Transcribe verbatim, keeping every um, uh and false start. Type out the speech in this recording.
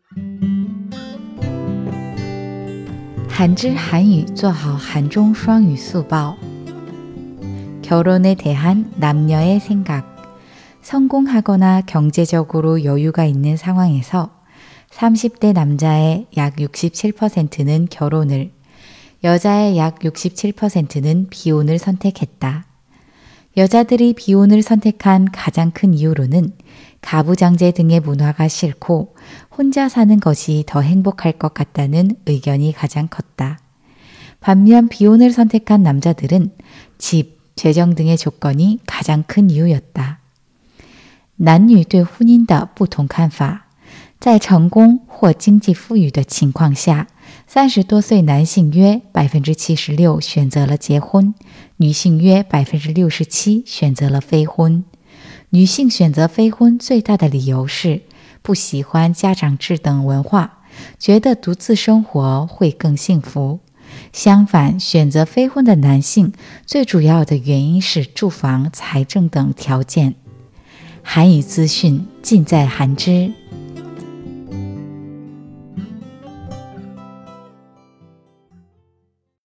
한知한유做好韩中双语速报 결혼에 대한 남녀의 생각 성공하거나 경제적으로 여유가 있는 상황에서 삼십 대 남자의 약 육십칠 퍼센트는 결혼을, 여자의 약 육십칠 퍼센트는 비혼을 선택했다. 여자들이 비혼을 선택한 가장 큰 이유로는 가부장제 등의 문화가 싫고 혼자 사는 것이 더 행복할 것 같다는 의견이 가장 컸다. 반면 비혼을 선택한 남자들은 집, 재정 등의 조건이 가장 큰 이유였다. 男女对婚姻的不同看法在成功或经济富裕的情况下，三十多岁男性约 百分之七十六 选择了结婚，女性约 百分之六十七 选择了非婚。女性选择非婚最大的理由是不喜欢家长制等文化，觉得独自生活会更幸福。相反，选择非婚的男性最主要的原因是住房、财政等条件。韩语资讯尽在韩知。